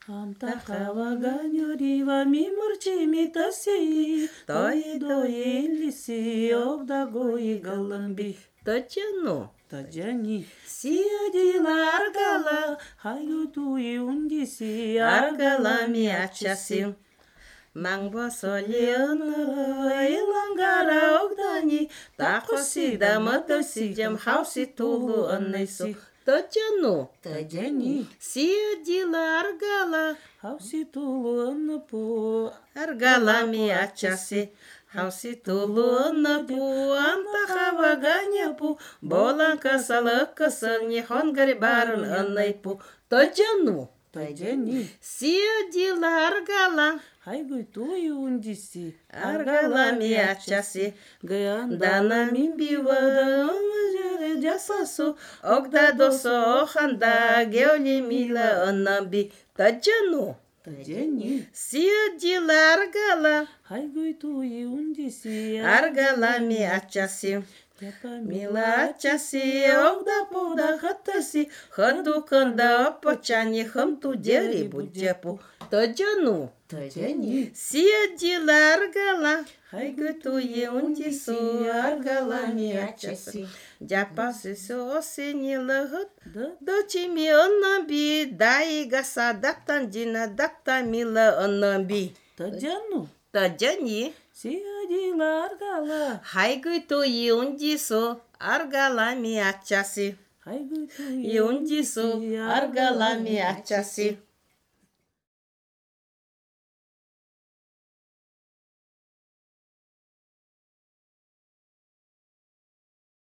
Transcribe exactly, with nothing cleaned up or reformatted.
Амтахаваганьорива мимурчими таси, той доилиси обдагои галамби. Таджану. Таджани. Сиадила аргала, хаютуи ундиси аргала миачаси. Мангба солиана илангара огдани, такосида матосидям хауси тулу аннесу. Таджану. Таджани. Сиадила аргала, хауси тулу аннапу аргала миачаси. Хауси тулу аннапу, антахаваганяпу, боланка салакасан, нихон гарибаран аннайпу. Таджану. Таджани. Сиадила аргала, Хайгуйтуи ундиси аргала миачаси. Гаяндана Дана мимбива жасасу, огда досо оханда, геоли мила аннамби. Таджану. Таджани. Сиадила аргала, Хайгуйтуи ундиси аргала миачаси. Мила ачаси, огда пуда хатаси, хадуканда апачани, хамту дери буджапу. Таджану. Таджани. Сиадила аргала, хайгутуи ундису, аргала миачаси. Джапаси соосенила хат, дочи ми аннамби, дай гаса дактандина, дакта мила аннамби. Таджану. Таджани. Сиадила аргала. Хайгутуи ундису, аргала миачаси. Хайгуйтуи Юндису, аргала миачаси.